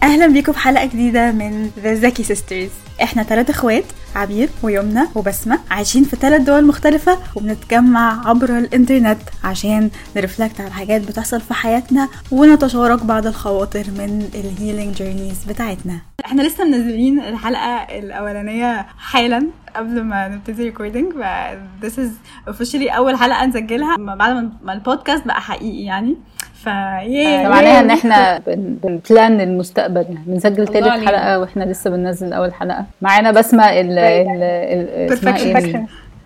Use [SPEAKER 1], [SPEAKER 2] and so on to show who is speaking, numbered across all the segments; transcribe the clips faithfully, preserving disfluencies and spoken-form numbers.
[SPEAKER 1] اهلا بيكم في حلقه جديده من The Zaki Sisters. احنا ثلاث اخوات، عبير ويمنى وبسمة، عايشين في ثلاث دول مختلفه وبنتجمع عبر الانترنت عشان نرفلكت على حاجات بتحصل في حياتنا ونتشارك بعض الخواطر من الهيلينج جيرنيز بتاعتنا. احنا لسه منزلين الحلقه الاولانيه حالا قبل ما نبتدي ريكوردينج، ف this is officially اول حلقه نسجلها بعد ما البودكاست بقى حقيقي يعني.
[SPEAKER 2] فايه معناها ان احنا بنبلان المستقبل، بنسجل ثالث حلقه واحنا لسه بننزل اول حلقه. معانا بسمة ال ال
[SPEAKER 1] perfection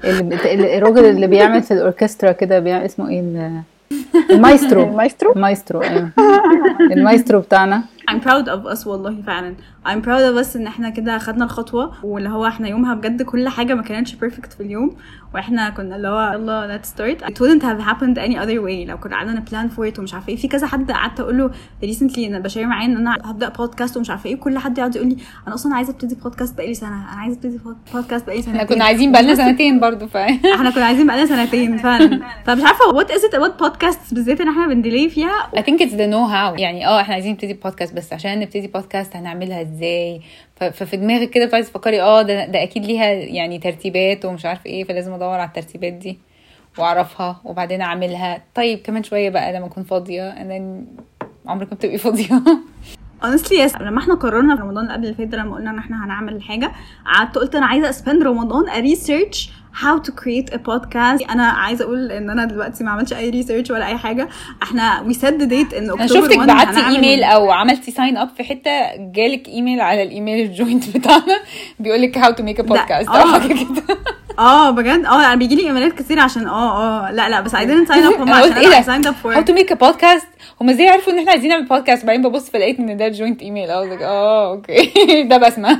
[SPEAKER 2] الراجل اللي بيعمل في الاوركسترا كده، بيعمل اسمه ايه، المايسترو
[SPEAKER 3] المايسترو
[SPEAKER 2] المايسترو ايوه المايسترو بتاعنا.
[SPEAKER 1] I'm proud of us والله فعلا. I'm proud of us ان احنا كده خدنا الخطوة، واللي هو احنا يومها بجد كل حاجة ما كانتش perfect في اليوم، واحنا كنا اللي هو يلا let's start. It wouldn't have happened any other way لو كنا قعدنا plan for it ومش عارفة ايه. في كذا حد قعدت اقول له recently انا بشير معاه ان انا هبدأ بودكاست ومش عارفة ايه، كل حد يقعد يقول لي انا اصلا عايزة ابتدي بودكاست بقالي سنة، انا عايزة ابتدي بودكاست بقالي سنتين.
[SPEAKER 3] احنا كنا عايزين بقالنا سنتين برضو ف
[SPEAKER 1] احنا كنا عايزين بقالنا سنتين فعلا. فمش عارفة what is it about podcasts بالذات ان احنا بنديلي فيها.
[SPEAKER 3] I think it's the know how. يعني اه احنا عايزين نبتدي بودكاست، بس عشان نبتدي بودكاست هنعملها ازاي؟ ففي دماغك كده بتعرفي تفكري اه ده, ده اكيد ليها يعني ترتيبات ومش عارف ايه، فلازم ادور على الترتيبات دي واعرفها وبعدين اعملها. طيب كمان شويه بقى لما اكون فاضيه، انا عمرك ما بتبقي فاضيه.
[SPEAKER 1] honestly yes. لما احنا قررنا في رمضان قبل اللي فات لما قلنا ان احنا هنعمل حاجه، قعدت قلت انا عايزه اسبند رمضان اريسيرش how to create a podcast. انا عايزه اقول ان انا دلوقتي ما عملتش اي ريسيرش ولا اي حاجه. احنا we set the date ان
[SPEAKER 3] اكتوبر. شفتك بعتي ايميل او عملتي ساين اب في حته، جالك ايميل على الايميل الجوينت بتاعنا بيقول لك how to make a podcast او حاجه كده.
[SPEAKER 1] اه بجد اه انا بيجي لي ايميلات كتير عشان اه اه لا لا بس عايزين نساين اب. هم عشان انا سايند اب فور
[SPEAKER 3] how to make a podcast. هم ازاي عرفوا ان احنا عايزين نعمل بودكاست؟ بعدين ببص فلقيت ان ده جوينت ايميل. اه اه اوكي ده بسمة.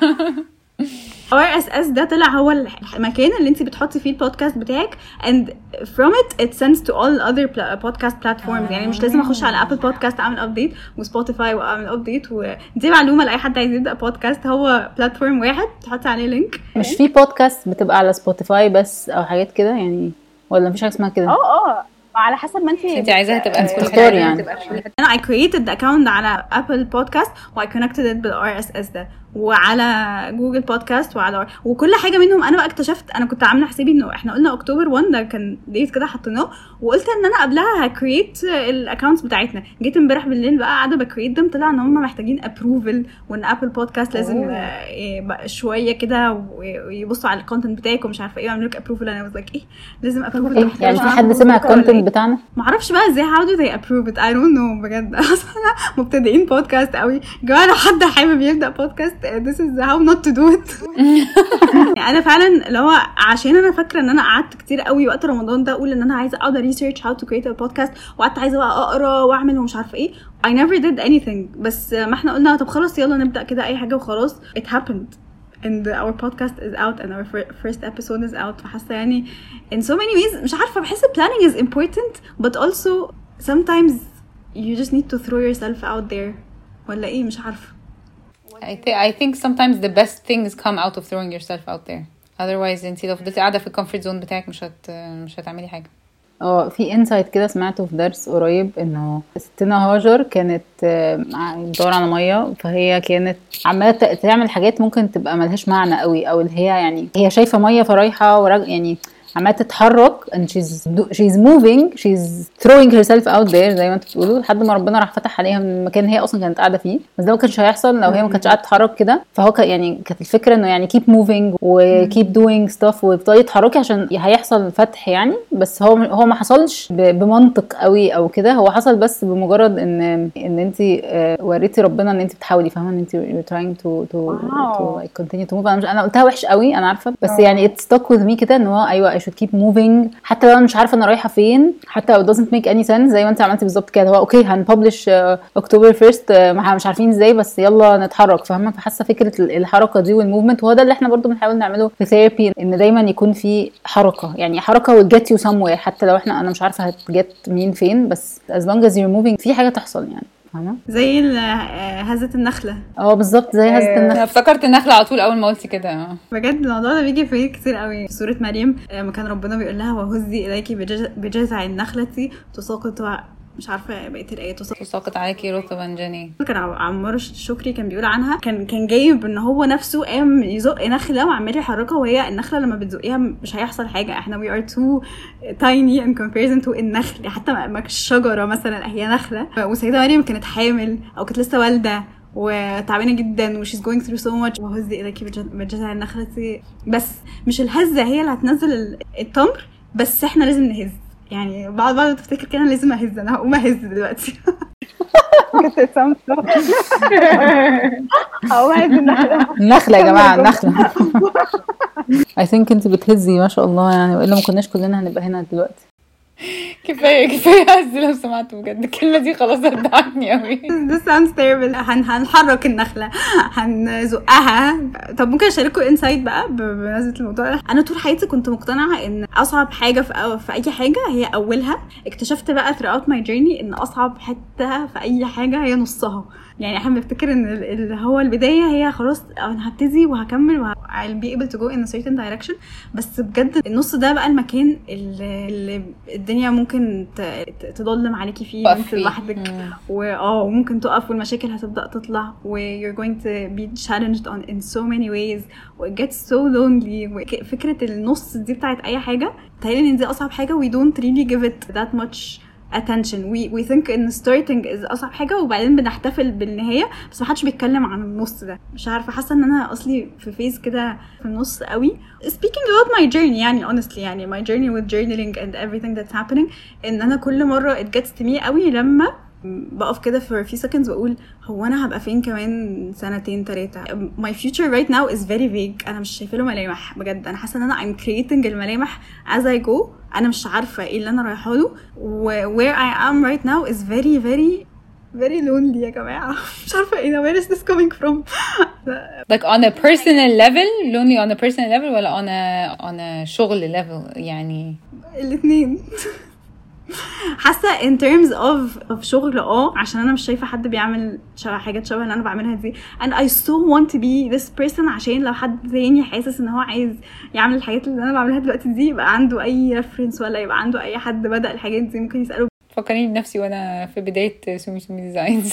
[SPEAKER 1] آر إس إس ده طلع هو المكان اللي انت بتحطي فيه البودكاست بتاعك and from it it sends to all other podcast platforms. يعني مش لازم اخش على ابل بودكاست اعمل ابديت وسبوتيفاي واعمل ابديت. ودي معلومه لاي حد عايز يبدا بودكاست، هو بلاتفورم واحد تحطي عليه لينك.
[SPEAKER 2] مش في بودكاست بتبقى على سبوتيفاي بس او حاجات كده يعني، ولا مفيش حاجه اسمها كده؟
[SPEAKER 4] اه اه على حسب ما انت
[SPEAKER 3] انت عايزاها تبقى
[SPEAKER 2] تختار يعني.
[SPEAKER 1] انا I created the account على ابل بودكاست و I connected it بال آر إس إس ده، وعلى جوجل بودكاست وعلى وكل حاجه منهم. انا بقى اكتشفت، انا كنت عامله حسابي انه احنا قلنا اكتوبر واحد ده كان ديت كده حطيناه، وقلت ان انا قبلها هكريت الاكونتس بتاعتنا. جيت امبارح بالليل بقى قاعده بكريت them، طلع ان هم محتاجين ابروفل، وان ابل بودكاست لازم بقى شويه كده ويبصوا على الكونتنت بتاعك ومش عارفه ايه ويعملوا لك ابروفل. انا was like ايه لازم ابروفل
[SPEAKER 2] إيه؟ يعني في حد سمع الكونتنت بتاعنا؟
[SPEAKER 1] ما اعرفش بقى ازاي how do they approve it I don't know بجد. اصلا مبتدئين بودكاست قوي جماعه، لو حد حابب يبدا بودكاست this is how not to do it. يعني انا فعلا لو عشان انا فاكره ان انا قعدت كتير قوي وقت رمضان ده اقول ان انا عايزه اقعد ريسيرش how to create a podcast، وقعدت عايزه بقى اقرا واعمل ومش عارفه ايه. I never did anything. بس ما احنا قلنا طب خلاص يلا نبدا كده اي حاجه وخلاص. It happened and our podcast is out and our first episode is out. فحاسه يعني in so many ways مش عارفه، بحس planning is important but also sometimes you just need to throw yourself out there ولا ايه مش عارفه.
[SPEAKER 3] I, th- I think sometimes the best things come out of throwing yourself out there. Otherwise انتي لو فضلتي قاعده في الكومفورت زون بتاعك مش هت مش هتعملي حاجه.
[SPEAKER 2] اه في انسايت كده سمعته في درس قريب، انه ستنا هاجر كانت بتدور على ميه، فهي كانت عماله تعمل حاجات ممكن تبقى ملهاش معنى قوي، او اللي هي يعني هي شايفه ميه فرايحه ورج... يعني عماله تتحرك and she's she's moving she's throwing herself out there زي ما انتوا بتقولوا، لحد ما ربنا راح فتح عليها من المكان اللي هي اصلا كانت قاعده فيه. بس ده ما كانش هيحصل لو هي ما كانتش قاعده تتحرك كده. فهو ك... يعني كانت الفكره انه يعني keep moving و keep doing stuff وتفضلي تتحركي عشان هيحصل فتح يعني. بس هو هو ما حصلش ب... بمنطق قوي او كده، هو حصل بس بمجرد ان ان انت وريتي ربنا ان انت بتحاولي، فاهمه ان انت you're trying to to to like continue to move. انا مش انا قلتها وحش قوي انا عارفه، بس يعني it stuck with me كده ان هو ايوه should keep moving حتى لو انا مش عارفه انا رايحه فين، حتى لو it doesn't make any sense زي ما انت عملتي بالظبط كده. هو اوكي هنببلش اكتوبر فيرست مش عارفين ازاي بس يلا نتحرك، فاهمه؟ فحاسه فكره الحركه دي والموفمنت، وهو ده اللي احنا برضو بنحاول نعمله في ثيرابي، ان دايما يكون في حركه، يعني حركه will get you somewhere حتى لو احنا انا مش عارفه هتجت مين فين، بس as long as you're moving في حاجه تحصل يعني. فاهمه؟
[SPEAKER 1] زي هزة النخله.
[SPEAKER 2] اه بالظبط زي هزة النخله.
[SPEAKER 3] انا افتكرت النخله على طول اول ما قلتي كده.
[SPEAKER 1] بجد الموضوع ده بيجي في كتير قوي. في سوره مريم ما كان ربنا بيقول لها وهزي اليكي بجذع النخله تساقط مش عارفه بقيه الايات.
[SPEAKER 3] تساقط عليكي رطبا جني،
[SPEAKER 1] كان عمار الشكري كان بيقول عنها، كان كان جايب ان هو نفسه قام يزق نخله وعمال يحركها، وهي النخله لما بتزقيها مش هيحصل حاجه، احنا we are too tiny in comparison to النخل، حتى ما الشجره مثلا هي نخله. وسيده مريم كانت حامل او كانت لسه والده وتعبانه جدا و she's going through so much، وهز ايدك بجزع النخله دي، بس مش الهزه هي اللي هتنزل التمر، بس احنا لازم نهز. يعني بعض بعض تفتكر كده لازم اهز، انا هقوم اهز دلوقتي.
[SPEAKER 4] كنت سامسة هقوم اهز النخله.
[SPEAKER 2] النخله يا جماعه النخله. I think انت بتهزي ما شاء الله يعني، والا ما كناش كلنا هنبقى هنا دلوقتي.
[SPEAKER 3] كفايه كفايه هز لو سمعتوا بجد الكلمه دي خلاص ردعتني قوي.
[SPEAKER 1] This sounds terrible. هن هنحرك النخله، هنزقها. طب ممكن اشارككم انسايت بقى بمناسبه الموضوع ده؟ انا طول حياتي كنت مقتنعه ان اصعب حاجه في, في اي حاجه هي اولها. اكتشفت بقى throughout my journey ان اصعب حته في اي حاجه هي نصها. يعني احنا بنفتكر ان اللي هو البدايه هي خلاص انا هبتدي وهكمل و I'll be able to go in a certain direction، بس بجد النص ده بقى المكان اللي, اللي الدنيا ممكن تضلم عليكي فيه انت لوحدك، واه ممكن تقف والمشاكل هتبدا تطلع و you're going to be challenged on in so many ways و it gets so lonely. فكره النص دي بتاعت اي حاجه تهيألي ان دي اصعب حاجه. we don't really give it that much attention. we we think in starting is اصعب حاجه وبعدين بنحتفل بالنهايه، بس ما حدش بيتكلم عن النص ده. مش عارفه، حاسه ان انا اصلي في فيز كده في النص قوي. speaking about my journey يعني honestly يعني my journey with journaling and everything that's happening، ان انا كل مره it gets to me قوي لما بقف كده for a few seconds واقول هو انا هبقى فين كمان سنتين ثلاثه. my future right now is very vague. انا مش شايفه له ملامح بجد. انا حاسه ان انا I'm creating الملامح as I go. انا مش عارفه ايه اللي انا رايحه له. where I am right now is very very very lonely يا جماعه. مش عارفه ايه where is this coming from.
[SPEAKER 3] like on a personal level lonely on a personal level ولا on a on a شغل level؟ يعني
[SPEAKER 1] الاثنين. حاسه in terms of of شغل اه عشان انا مش شايفه حد بيعمل شبه حاجات شبه اللي انا بعملها دي and I so want to be this person، عشان لو حد تاني حاسس ان هو عايز يعمل الحاجات اللي انا بعملها دلوقتي دي يبقى عنده اي reference ولا يبقى عنده اي حد بدأ الحاجات دي ممكن يسأله.
[SPEAKER 3] فكرني بنفسي وانا في بدايه سومي سومي ديزاينز.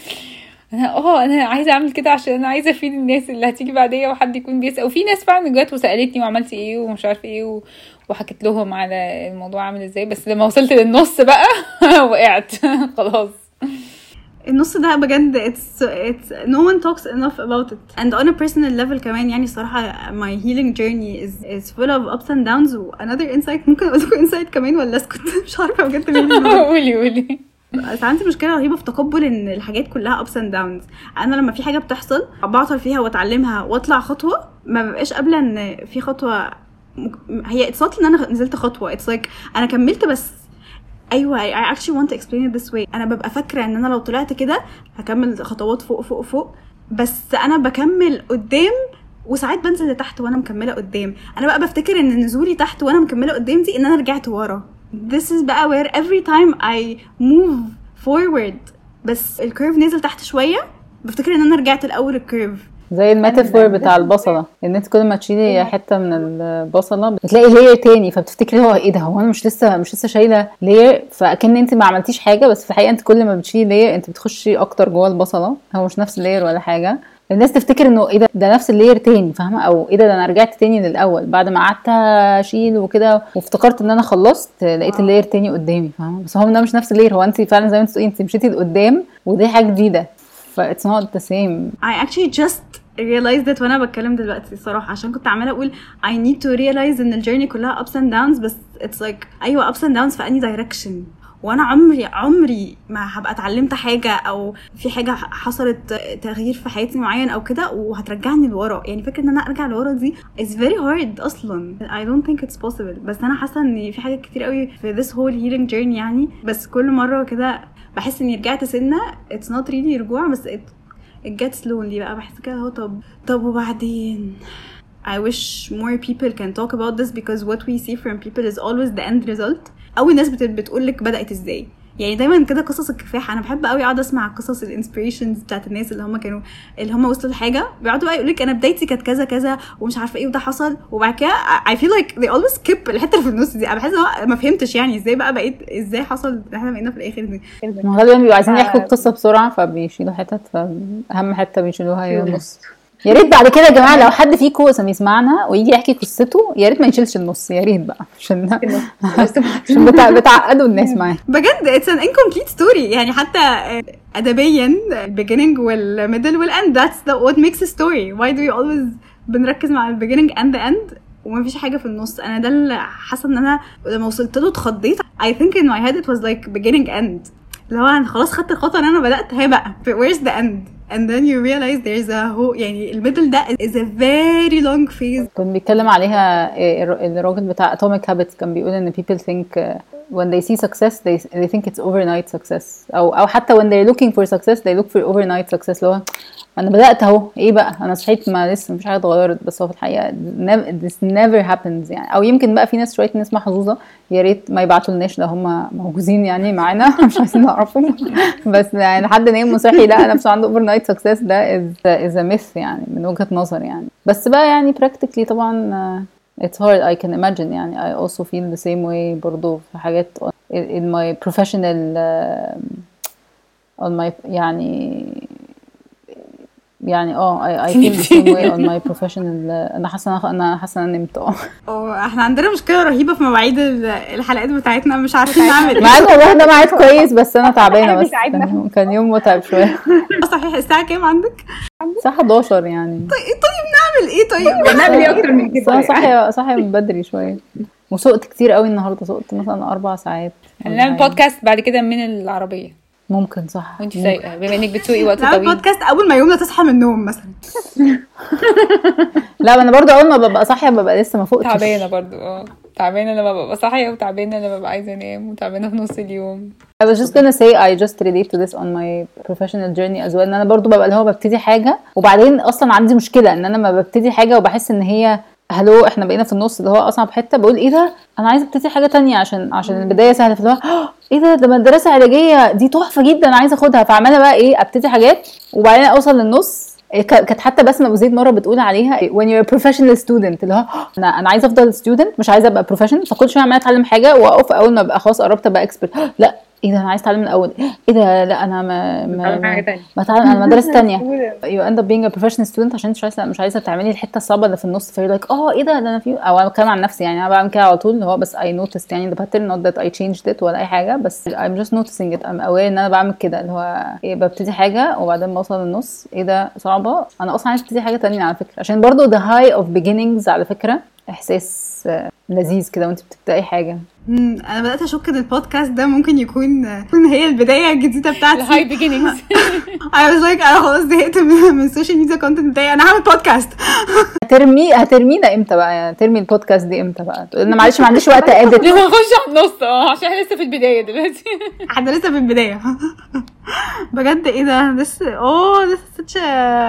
[SPEAKER 3] انا اه انا عايزه اعمل كده عشان انا عايزه افيد الناس اللي هتيجي بعديا وحد يكون بيسأل. وفي ناس فعلا جت وسالتني وعملت ايه ومش عارفه ايه و... وحكيت لهم على الموضوع عامل ازاي، بس لما وصلت للنص بقى وقعت خلاص.
[SPEAKER 1] النص ده بجد it's it's no one talks enough about it and on a personal level كمان. يعني صراحة my healing journey is is full of ups and downs. و another insight ممكن اقول لكم insight كمان ولا اسكت؟ مش عارفة بجد مين.
[SPEAKER 3] قولي قولي.
[SPEAKER 1] بس عندي مشكله رهيبه في تقبل ان الحاجات كلها ups and downs. انا لما في حاجه بتحصل بعطل فيها واتعلمها واطلع خطوه، ما ببقاش قابله ان في خطوه هي اتصلت ان انا نزلت خطوه. it's like انا كملت بس ايوه I actually want to explain it this way. انا ببقى فاكره ان انا لو طلعت كده هكمل خطوات فوق فوق فوق، بس انا بكمل قدام وساعات بنزل لتحت وانا مكمله قدام. انا بقى بفتكر ان نزولي تحت وانا مكمله قدام دي ان انا رجعت ورا. this is بقى where every time I move forward بس الكيرف نزل تحت شويه بفتكر ان انا رجعت الاول الكيرف.
[SPEAKER 2] زي الميتافور بتاع البصله، ان انت كل ما تشيلي حته من البصله بتلاقي لير تاني، فبتفتكري هو ايه ده، هو انا مش لسه مش لسه شايله لير، فاكن انت ما عملتيش حاجه، بس في الحقيقه انت كل ما بتشيلي لير انت بتخشي اكتر جوه البصله، هو مش نفس اللير ولا حاجه. الناس تفتكر انه ايه ده ده نفس اللير تاني، فاهمه؟ او ايه ده ده انا رجعت تاني للاول بعد ما قعدت اشيل وكده وافتكرت ان انا خلصت لقيت اللير تاني قدامي، فاهمه؟ بس هو ده مش نفس اللير، هو انت فعلا زي ما انت بتقولي انت مشيتي لقدام ودي حاجه جديده، ف it's not the same.
[SPEAKER 1] I actually just realized that وانا بتكلم دلوقتي صراحه، عشان كنت عماله اقول I need to realize ان الجيرني كلها ups and downs، بس it's like ايوه ups and downs في اني direction. وانا عمري عمري ما هبقى اتعلمت حاجه او في حاجه حصلت تغيير في حياتي معين او كده وهترجعني لورا. يعني فكره ان انا ارجع لورا دي is very hard اصلا. I don't think it's possible. بس انا حاسه ان في حاجات كتير قوي في this whole healing journey يعني، بس كل مره كده بحس اني رجعت سنه. it's not really رجوع، بس it, it gets lonely بقى. بحس كده هو طب طب وبعدين I wish more people can talk about this because what we see from people is always the end result. اول ناس بتقول لك بدات ازاي، يعني دايما كده قصص الكفاح. انا بحب قوي اقعد اسمع قصص الانسبيريشنز بتاعت الناس اللي هم كانوا اللي هم وصلوا لحاجه، بيقعدوا بقى يقول لك انا بدايتي كانت كذا كذا ومش عارفه ايه وده حصل، وبعد كده I feel like they always skip الحته اللي في النص دي. انا بحس ان ما فهمتش يعني ازاي بقى بقيت ازاي حصل ان احنا بقينا في الاخر دي.
[SPEAKER 2] غالبا بيبقوا عايزين يحكوا القصه بسرعه فبيشيلوا حتت، فاهم حته بيشيلوها هي النص. يا ريت بعد كده يا جماعه لو حد فيكم يسمعنا ويجي يحكي قصته يا ريت ما يشيلش النص، يا ريت بقى عشان عشان بتاع بتعقدوا الناس معاه
[SPEAKER 1] بجد. it's an incomplete story يعني حتى ادبيا beginning وال middle وال end that's the what makes a story. why do we always بنركز مع ال beginning and the end ومفيش حاجه في النص؟ انا ده اللي حاسه ان انا لما وصلت له اتخضيت. I think in my head it was like beginning end، اللي هو انا خلاص خدت الخطوه ان انا بدات هي بقى where's the end and then you realize there's a whole يعني الميدل ده is a very long phase.
[SPEAKER 2] كان بيتكلم عليها الراجل بتاع Atomic Habits، كان بيقول ان people think when they see success they they think it's overnight success، او او حتى when they're looking for success they look for overnight success. لو انا بدات اهو ايه بقى انا صحيت ما لسه مفيش حاجه اتغيرت، بس هو في الحقيقه this never happens يعني. او يمكن بقى في ناس شويه ناس محظوظه يا ريت ما يبعتوا لناش لو هم موجودين يعني معانا مش عايزين نعرفهم بس يعني حد نايم وصحي لا نفسه عنده overnight success ده is is a myth يعني من وجهه نظر يعني. بس بقى يعني practically طبعا uh, it's hard I can imagine يعني. I also feel the same way برضو في حاجات in my professional uh, on my يعني يعني اه I, I feel the same way on my professional. انا حاسه انا حاسه ان نمت اه
[SPEAKER 1] اه احنا عندنا مشكله رهيبه في مواعيد الحلقات بتاعتنا، مش عارفين نعمل
[SPEAKER 2] معاك والله. ده ميعاد كويس بس انا تعبانه بس كان, كان يوم متعب شويه.
[SPEAKER 1] صحيح الساعه كام عندك؟
[SPEAKER 2] الساعه حداشر يعني.
[SPEAKER 1] طيب طيب نعمل ايه؟ طيب
[SPEAKER 4] نعمل ايه اكتر من كده؟
[SPEAKER 2] صاحيه صاحيه بدري شويه وسقت كتير قوي النهارده، سقت مثلا اربع ساعات.
[SPEAKER 3] هنعمل بودكاست بعد كده من العربيه
[SPEAKER 2] ممكن صح
[SPEAKER 3] وانت سايقه بما انك بتسوقي وقت
[SPEAKER 1] نعمل
[SPEAKER 3] طويل.
[SPEAKER 1] بودكاست اول ما يومنا تصحى من النوم مثلا.
[SPEAKER 2] لا انا برضو اول ما ببقى صاحيه ببقى لسه ما فوقتش.
[SPEAKER 3] تعبانه برضو اه تعبانه لما ببقى صاحيه وتعبانه لما ببقى عايزه انام وتعبانه في نص اليوم.
[SPEAKER 2] I was just gonna say I just relate to this on my professional journey as well. ان انا برضو ببقى اللي هو ببتدي حاجه وبعدين اصلا عندي مشكله ان انا ما ببتدي حاجه وبحس ان هي هلو احنا بقينا في النص اللي هو اصعب حته، بقول ايه ده انا عايزه ابتدي حاجه تانية عشان عشان البدايه سهله، في اللي هو ايه ده ده مدرسه علاجيه دي تحفه جدا انا عايزه اخدها، فعماله بقى ايه ابتدي حاجات وبعدين اوصل للنص. كانت حتى بسمة ابو زيد مره بتقول عليها when you're a professional student اللي هو انا انا عايزه افضل student مش عايزه ابقى professional، فكل شويه عماله اتعلم حاجه واقف اول ما ابقى خلاص قربت ابقى expert لا ايه ده انا عايز اتعلم من الاول، ايه ده لا انا ما ما ما اتعلم انا مدرسه ثانيه. you end up being a professional student عشان مش عايزه مش عايزه تعملي الحته الصعبه اللي في النص، فيقول لك اه ايه ده ده انا في او انا بتكلم عن نفسي يعني انا بعمل كده على طول اللي هو بس I noticed يعني the pattern not that I changed it ولا اي حاجه بس I'm just noticing it I'm aware ان انا بعمل كده اللي هو ايه ببتدي حاجه وبعدين بوصل للنص ايه ده صعبه انا اصلا عايزه ابتدي حاجه ثانيه على فكره، عشان برضو the high of beginnings على فكره احساس لذيذ كده وانت بتبداي حاجه.
[SPEAKER 1] امم انا بدات اشك ان البودكاست ده ممكن يكون يكون هي البدايه الجديده بتاعتي
[SPEAKER 3] الهاي بيجينينجز.
[SPEAKER 1] I was like انا خلاص زهقت من السوشيال ميديا كونتنت بتاعي انا هعمل بودكاست.
[SPEAKER 2] هترمي هترمينا امتى بقى يعني ترمي البودكاست دي امتى بقى؟ تقول لنا معلش ما عنديش وقت اديت.
[SPEAKER 3] لما نخش على النص اه عشان احنا لسه في البدايه دلوقتي.
[SPEAKER 1] احنا لسه في البدايه بجد. ايه ده لسه اوه لسه such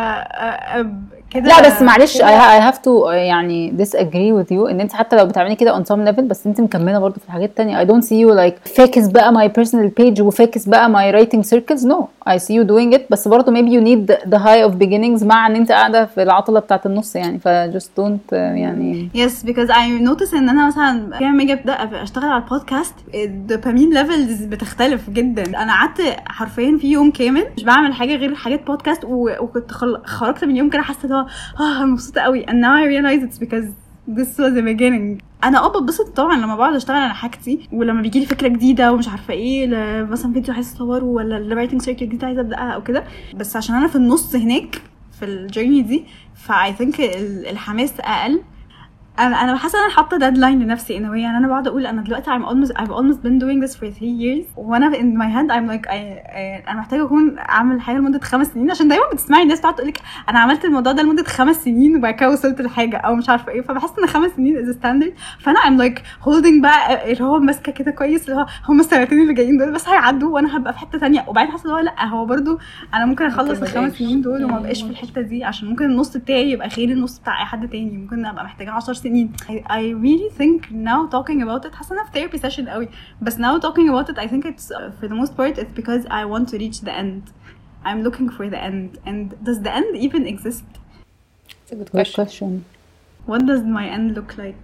[SPEAKER 1] كده.
[SPEAKER 2] لا بس معلش I have to يعني disagree with you ان انت حتى لو بتعملي كده on some level بس انت مكمله برضو في الحاجات التانية. I don't see you like فاكس بقى my personal page وفاكس بقى my writing circles. no I see you doing it بس برضو maybe you need the high of beginnings مع ان انت قاعده في العطله بتاعه النص يعني ف just don't يعني
[SPEAKER 1] yes because I notice ان انا مثلا لما اجي ابدا اشتغل على البودكاست الدوبامين ليفلز بتختلف جدا. انا قعدت حرفيا في يوم كامل مش بعمل حاجه غير حاجات بودكاست وكنت خرجت من يوم كده حاسه اه مبسوطه قوي and now I realize it's because this was the beginning. انا اه ببسط طبعا لما بقعد اشتغل على حاجتي ولما بيجي لي فكره جديده ومش عارفه ايه مثلا فيديو عايزه اصوره ولا الرايتنج سيركل جديده عايزه ابداها او كده، بس عشان انا في النص هناك في الجيرني دي فاي ثينك الحماس اقل. انا انا حاسه انا حاطه ديدلاين لنفسي ان يعني انا بقعد اقول انا دلوقتي I'm almost I've almost been doing this for three years وانا in my head I'm like I, I, انا محتاجه اكون اعمل حاجه لمده خمس سنين عشان دايما بتسمعي الناس تقعد تقول لك انا عملت الموضوع ده لمده خمس سنين وبعد كده وصلت لحاجه او مش عارفه ايه، فبحس ان خمس سنين is a standard. فانا I'm like holding بقى اللي هو ماسكه كده كويس اللي هو هم السنتين اللي جايين دول بس هيعدوا وانا هبقى في حته ثانيه، وبعدين حاسه اللي هو لا هو برده انا ممكن اخلص الخمس سنين دول وما بقاش في الحته دي عشان ممكن النص بتاعي يبقى خير النص بتاع اي حد تاني، ممكن ابقى محتاجه عشر سنين سنين. I, I really think now talking about it حاسة أنا في therapy session قوي, بس now talking about it I think it's uh, for the most part it's because I want to reach the end. I'm looking for the end, and does the end even exist?
[SPEAKER 3] It's a good
[SPEAKER 2] Good
[SPEAKER 3] question.
[SPEAKER 2] question.
[SPEAKER 1] What does my end look like?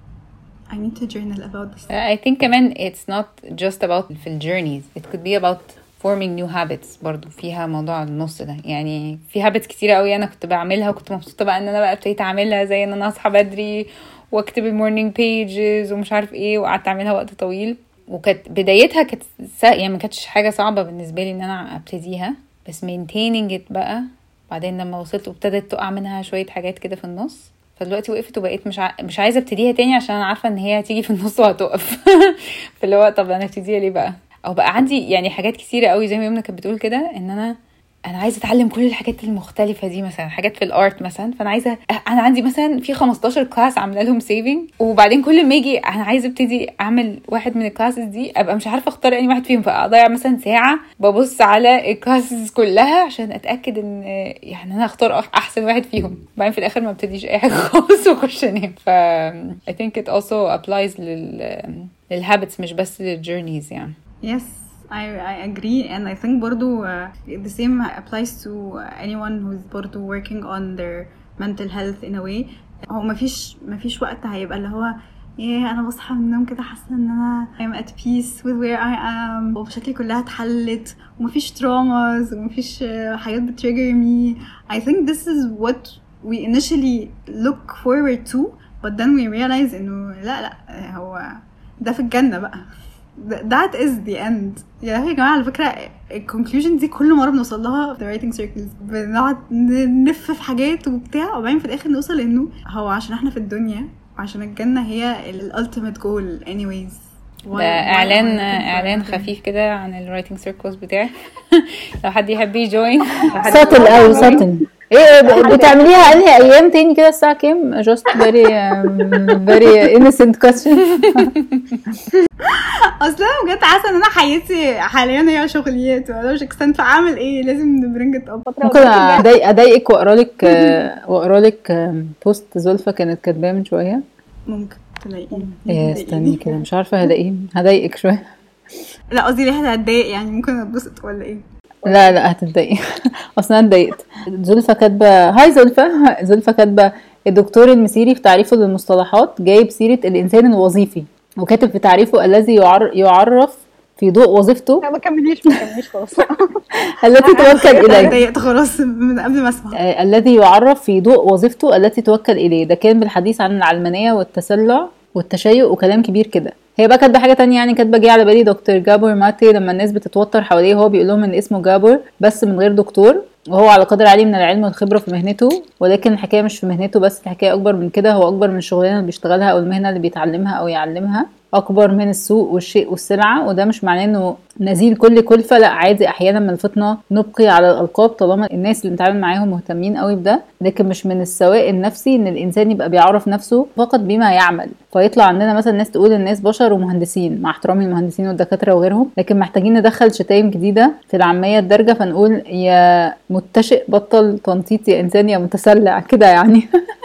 [SPEAKER 1] I need to journal about this.
[SPEAKER 3] I think كمان it's not just about في ال journeys. It could be about forming new habits. برضو فيها موضوع النص ده, يعني في habits كتيرة قوي أنا كنت بعملها وكنت مبسوطة بقى إن أنا بقى ابتديت أعملها, زي إن أنا أصحى بدري واكتب المورنينج pages ومش عارف إيه, وقعدت أعملها وقت طويل, وكانت بدايتها كانت يعني ما كانتش حاجة صعبة بالنسبة لي إن أنا أبتديها, بس maintaining it بقى بعدين لما وصلت وابتدت تقع منها شوية حاجات كده في النص, فدلوقتي وقفت وبقيت مش ع... مش عايزة ابتديها تاني عشان أنا عارفة إن هي هتيجي في النص وهتقف. فاللي هو طب أنا ابتديها ليه بقى؟ أو بقى عندي يعني حاجات كتيرة قوي زي ما يمنا كانت بتقول كده, إن أنا انا عايزه اتعلم كل الحاجات المختلفه دي, مثلا حاجات في الارت مثلا, فانا عايزه انا عندي مثلا في خمستاشر كلاس عامله لهم سيفنج, وبعدين كل ما اجي انا عايزه ابتدي اعمل واحد من الكلاسز دي ابقى مش عارفه اختار اني واحد فيهم, فاضيع مثلا ساعه ببص على الكلاسز كلها عشان اتاكد ان يعني انا اختار احسن واحد فيهم, بعدين في الاخر ما ابتديش اي حاجه خالص واخش انام. ف I think it also applies لل للhabits مش بس للjourneys يعني.
[SPEAKER 1] Yes, I, I agree, and I think برضو uh, the same applies to anyone who's برضو working on their mental health in a way. هو مفيش مفيش وقت هيبقى اللي هو yeah أنا بصحى من النوم كده حاسة إن أنا I'm at peace with where I am, وبشكل كلها اتحلت ومفيش traumas ومفيش uh, حاجات بتtrigger me. I think this is what we initially look forward to, but then we realize إنه لا لا هو ده في الجنة بقى. That is the end. يا جماعة على فكرة الconclusion دي كل مرة بنوصل لها في writing circles, بنقعد نلف في حاجات وبتاع, وبعدين في الآخر نوصل إنه هو عشان إحنا في الدنيا وعشان الجنة هي ال ultimate goal anyways.
[SPEAKER 3] ده اعلان اعلان خفيف كده عن الرايتنج سيركلز بتاعي. لو حد يحب يجوين.
[SPEAKER 2] ساتل او ساتل ايه بتعمليها انهي ايام تاني كده الساعه كام؟ just very um, very innocent question.
[SPEAKER 1] اصلا بجد حاسه ان انا حياتي حاليا هي شغليات, وانا مش اكسنت اعمل ايه, لازم نبرنج ات اب.
[SPEAKER 2] ممكن اضايق اضايقك واقرا لك واقرا لك بوست زلفة كانت كاتباه من شويه.
[SPEAKER 1] ممكن تلاقيه
[SPEAKER 2] ايه استني كده, مش عارفه هلاقيه, هضايقك شويه.
[SPEAKER 1] لا قصدي ليه هتضايق يعني, ممكن اتبسط ولا ايه؟
[SPEAKER 2] لا لا هتتضايقي. اصلا اتضايقت. زلفة كاتبه, هاي زلفة. زلفة كاتبه الدكتور المسيري في تعريفه للمصطلحات جايب سيره الانسان الوظيفي, وكاتب في تعريفه الذي يعر... يعرف في ضوء وظيفته.
[SPEAKER 4] لا ما كمليش ما كمليش خلاص.
[SPEAKER 2] التي توكل اليه.
[SPEAKER 1] اتضايقت خلاص من قبل ما اسمع.
[SPEAKER 2] آه الذي يعرف في ضوء وظيفته التي توكل اليه. ده كان بالحديث عن العلمانيه والتسلع والتشيع وكلام كبير كده. هي بقى كاتبه حاجه تانية يعني, كاتبه جه على بالي دكتور جابور ماتي لما الناس بتتوتر حواليه, هو بيقول لهم ان اسمه جابور بس من غير دكتور, وهو على قدر عالي من العلم والخبره في مهنته, ولكن الحكايه مش في مهنته بس, الحكايه اكبر من كده. هو اكبر من الشغلانه اللي بيشتغلها او المهنه اللي بيتعلمها او يعلمها, اكبر من السوق والشيء والسلعه. وده مش معناه انه نزيل كل كلفه, لا عادي احيانا من الفطنه نبقي على الالقاب طالما الناس اللي بنتعامل معاهم مهتمين قوي بده, لكن مش من السواء النفسي ان الانسان يبقى بيعرف نفسه فقط بما يعمل, فيطلع عندنا مثلا ناس تقول الناس بشر ومهندسين, مع احترامي المهندسين والدكاتره وغيرهم, لكن محتاجين ندخل شتايم جديده في العاميه الدارجه, فنقول يا متشئ بطل تنطيط, يا انسان يا متسلع كده يعني.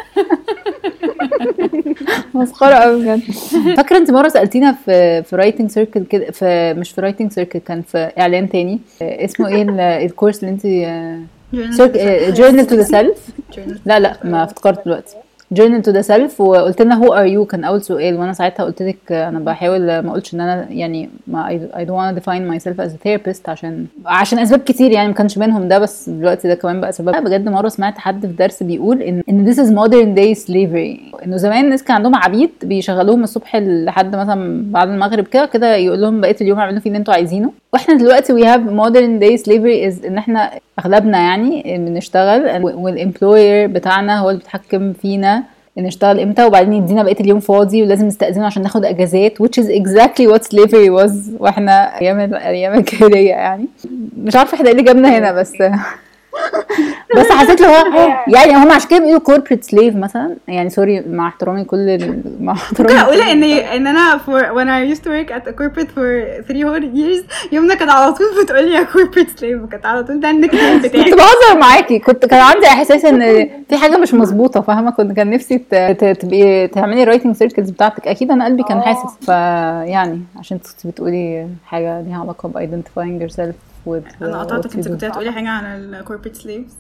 [SPEAKER 2] مسخره قوي بجد. فاكره انت مره سالتينا في في رايتنج سيركل كده, في مش في رايتنج سيركل, كان في اعلان تاني اسمه ايه الكورس اللي انت جورنال تو ذا سيلف. لا لا ما افتكرت دلوقتي. journal to the self, وقلت لنا who are you كان اول سؤال, وانا ساعتها قلت لك انا بحاول ما اقولش ان انا يعني ما I don't want to define myself as a therapist عشان عشان اسباب كتير يعني, ما كانش منهم ده, بس دلوقتي ده كمان بقى سبب. بجد مره سمعت حد في درس بيقول ان ان this is modern day slavery, انه زمان الناس كان عندهم عبيد بيشغلوهم الصبح لحد مثلا بعد المغرب كده كده, يقول لهم بقيه اليوم اعملوا فيه اللي انتوا عايزينه. واحنا دلوقتي we have modern day slavery is ان احنا اغلبنا يعني بنشتغل, والامبلوير بتاعنا هو اللي بيتحكم فينا نشتغل امتى, وبعدين يدينا بقيه اليوم فاضي ولازم نستأذنه عشان ناخد اجازات, which is exactly what slavery was واحنا ايام ايام الكليه يعني. مش عارفه احنا ايه اللي جابنا هنا, بس بس حسيت له هو يعني هم عشان كده بيقولوا كوربريت سليف مثلا، يعني سوري مع احترامي كل ال... مع احترامي
[SPEAKER 1] ممكن اقول ان ان انا for when I used to work at a corporate for three whole years يومنا كانت على طول بتقول لي يا corporate slave، وكانت على طول ده النيك نيم بتاعي.
[SPEAKER 2] كنت بهزر معاكي، كنت كان عندي احساس ان في حاجه مش مظبوطه فاهمه، كنت كان نفسي ت- ت- تبقي تعملي رايتنج سيركلز بتاعتك، اكيد انا قلبي كان حاسس. فيعني عشان كنت بتقولي حاجه ليها علاقه ب identifying yourself with
[SPEAKER 1] انا
[SPEAKER 2] what
[SPEAKER 1] قطعتك،
[SPEAKER 2] you
[SPEAKER 1] انت
[SPEAKER 2] do.
[SPEAKER 1] كنت هتقولي حاجه عن ال corporate slaves.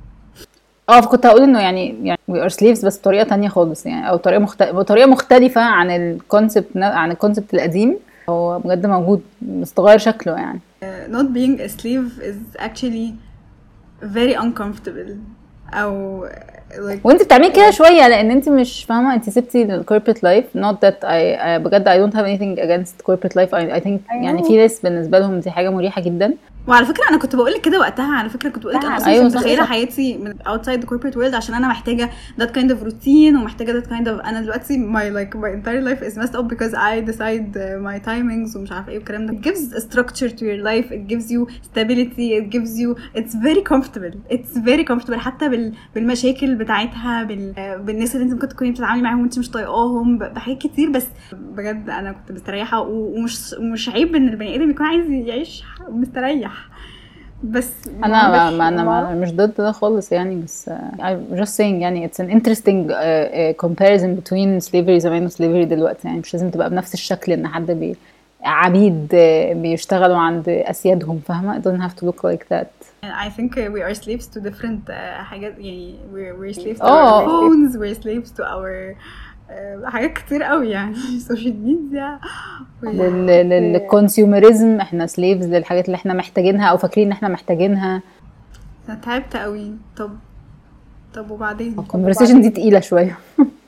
[SPEAKER 2] اه فكنت هقول انه يعني يعني we are slaves بس بطريقه تانية خالص يعني، او طريقه مخت... بطريقه مختلفه عن الكونسبت عن الكونسبت القديم. هو بجد موجود بس تغير شكله يعني.
[SPEAKER 1] Uh, not being a slave is actually very uncomfortable او like
[SPEAKER 2] وانت بتعملي كده شويه لان انت مش فاهمه، انت سبتي الكوربريت لايف. not that I, I بجد I don't have anything against corporate life. I, I think يعني في ناس بالنسبه لهم دي حاجه مريحه جدا.
[SPEAKER 1] وعلى فكره انا كنت بقول لك كده وقتها، على فكره كنت بقول لك انا اصلا
[SPEAKER 2] أيوة
[SPEAKER 1] مش
[SPEAKER 2] صح،
[SPEAKER 1] متخيله
[SPEAKER 2] صح.
[SPEAKER 1] حياتي من outside the corporate world عشان انا محتاجه that kind of routine ومحتاجه that kind of انا دلوقتي my like my entire life is messed up because I decide uh, my timings ومش عارفه ايه والكلام ده. It gives a structure to your life, it gives you stability, it gives you it's very comfortable it's very comfortable حتى بال بالمشاكل بتاعتها بال بالناس اللي انت ممكن تكوني بتتعاملي معاهم وانت مش طايقاهم ب- بحاجات كتير. بس بجد انا كنت مستريحه و- ومش مش عيب ان البني ادم يكون عايز يعيش مستريح. بس
[SPEAKER 2] انا ما
[SPEAKER 4] مش-
[SPEAKER 2] ما انا
[SPEAKER 4] ما
[SPEAKER 2] ما مش ضد ده خالص يعني، بس uh, I'm just saying يعني it's an interesting uh, uh, comparison between slavery زمان و slavery دلوقتي. يعني مش لازم تبقى بنفس الشكل ان حد بي عبيد uh, بيشتغلوا عند اسيادهم فاهمه. It doesn't have to look like that.
[SPEAKER 1] I think we are slaves to different uh, حاجات يعني we're, we're slaves to
[SPEAKER 2] Oh.
[SPEAKER 1] our phones, we're slaves to our uh, حاجات كتير قوي يعني social media.
[SPEAKER 2] لل للكونسيومرزم احنا slaves للحاجات اللي احنا محتاجينها او فاكرين ان احنا محتاجينها.
[SPEAKER 1] انا تعبت قوي. طب طب وبعدين
[SPEAKER 2] conversation دي تقيله شويه.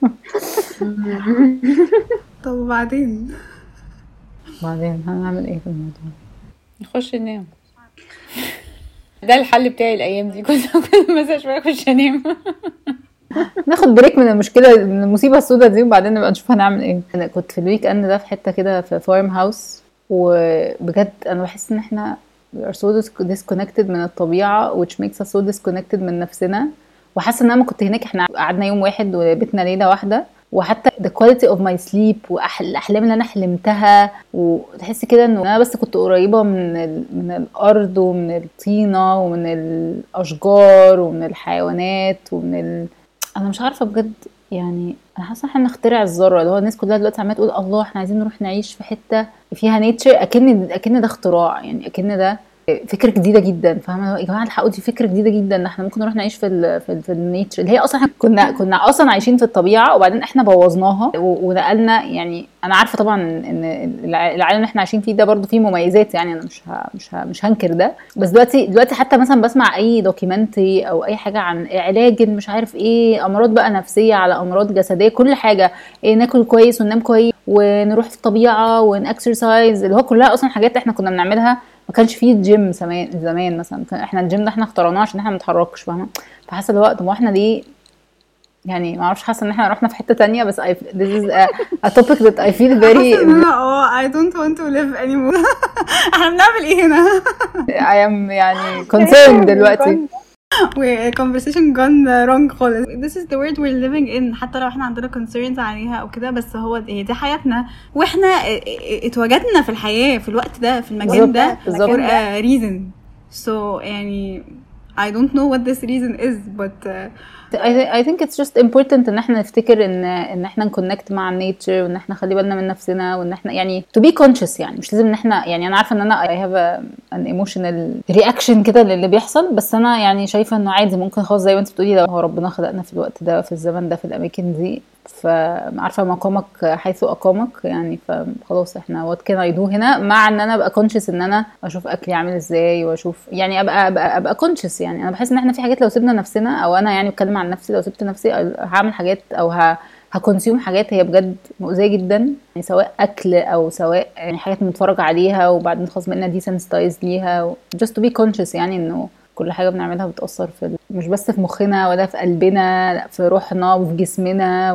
[SPEAKER 1] طب وبعدين
[SPEAKER 2] بعدين هنعمل ايه في الموضوع؟
[SPEAKER 3] نخش ننام. ده الحل بتاعي الايام دي، كنت كل مثلا شويه اخش انام.
[SPEAKER 2] ناخد بريك من المشكله من المصيبه السوداء دي وبعدين نبقى نشوف هنعمل ايه. انا كنت في الويك اند ده في حته كده في فارم هاوس، وبجد انا بحس ان احنا we are so disconnected من الطبيعه which makes us so disconnected من نفسنا. وحاسه ان انا كنت هناك احنا قعدنا يوم واحد وبيتنا ليله واحده، وحتى the quality of my sleep والاحلام اللي انا حلمتها، وتحس كده انه انا بس كنت قريبه من ال... من الارض ومن الطينه ومن الاشجار ومن الحيوانات ومن ال... انا مش عارفه بجد يعني. انا حاسه احنا نخترع الذره، اللي هو الناس كلها دلوقتي عماله تقول الله احنا عايزين نروح نعيش في حته فيها نيتشر، اكن اكن ده اختراع يعني، اكن ده فكره جديده جدا فاهمه يا جماعه. الحقوا دي فكره جديده جدا ان احنا ممكن نروح نعيش في ال في, ال في النيتشر اللي هي اصلا احنا كنا كنا اصلا عايشين في الطبيعه وبعدين احنا بوظناها ونقلنا. يعني انا عارفه طبعا ان العالم اللي احنا عايشين فيه ده برضو فيه مميزات يعني، انا مش ها مش ها مش هنكر ده. بس دلوقتي دلوقتي حتى مثلا بسمع اي دوكيومنتري او اي حاجه عن علاج مش عارف ايه، امراض بقى نفسيه على امراض جسديه، كل حاجه إيه، ناكل كويس وننام كويس ونروح في الطبيعه ونكسرسايز، اللي هو كلها اصلا حاجات احنا كنا بنعملها. ما كانش فيه جيم زمان زمان مثلا، احنا الجيم ده احنا اخترعناه عشان احنا ما نتحركش فاهمه. فحاسه الوقت ما احنا ليه يعني ما اعرفش، حاسه ان احنا رحنا في حته تانية. بس I, this is a, a topic that I feel very
[SPEAKER 1] اه I don't want to live anymore. احنا بنعمل ايه هنا؟
[SPEAKER 2] I am يعني concerned دلوقتي.
[SPEAKER 1] و conversation gone wrong خالص. This is the world we're living in. حتى لو احنا عندنا concerns عليها او كده، بس هو هي دي حياتنا، واحنا اتوجدنا في الحياة في الوقت ده في المكان ده
[SPEAKER 2] بالظبط.
[SPEAKER 1] for a reason. So يعني I don't know what this reason is but uh,
[SPEAKER 2] I, I think it's just important ان احنا نفتكر ان ان احنا نكونكت مع النيتشر، وان احنا خلي بالنا من نفسنا، وان احنا يعني to be conscious. يعني مش لازم ان احنا يعني انا عارفه ان انا I have a, an emotional reaction كده للي بيحصل، بس انا يعني شايفه انه عادي ممكن خلاص زي ما انت بتقولي، لو هو ربنا خلقنا في الوقت ده في الزمن ده في الاماكن دي، فعارفه مقامك حيث اقامك يعني، فخلاص احنا what can I do هنا، مع ان انا ابقى conscious ان انا اشوف اكلي عامل ازاي واشوف يعني ابقى ابقى, أبقى conscious. يعني انا بحس ان احنا في حاجات لو سيبنا نفسنا، او انا يعني بتكلم عن نفسي، لو سبت نفسي هعمل حاجات او ه هكونسيوم حاجات هي بجد مؤذيه جدا يعني، سواء اكل او سواء يعني حاجات بنتفرج عليها وبعدين خلاص بقينا ديسنسيتايز ليها. just to be conscious يعني انه كل حاجه بنعملها بتاثر في مش بس في مخنا ولا في قلبنا، لا في روحنا وفي جسمنا وفي